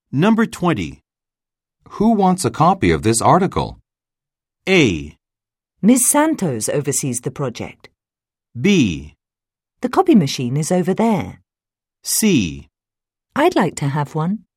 Number 20. Who wants a copy of this article? A. Ms. Santos oversees the project. B. The copy machine is over there. C. I'd like to have one.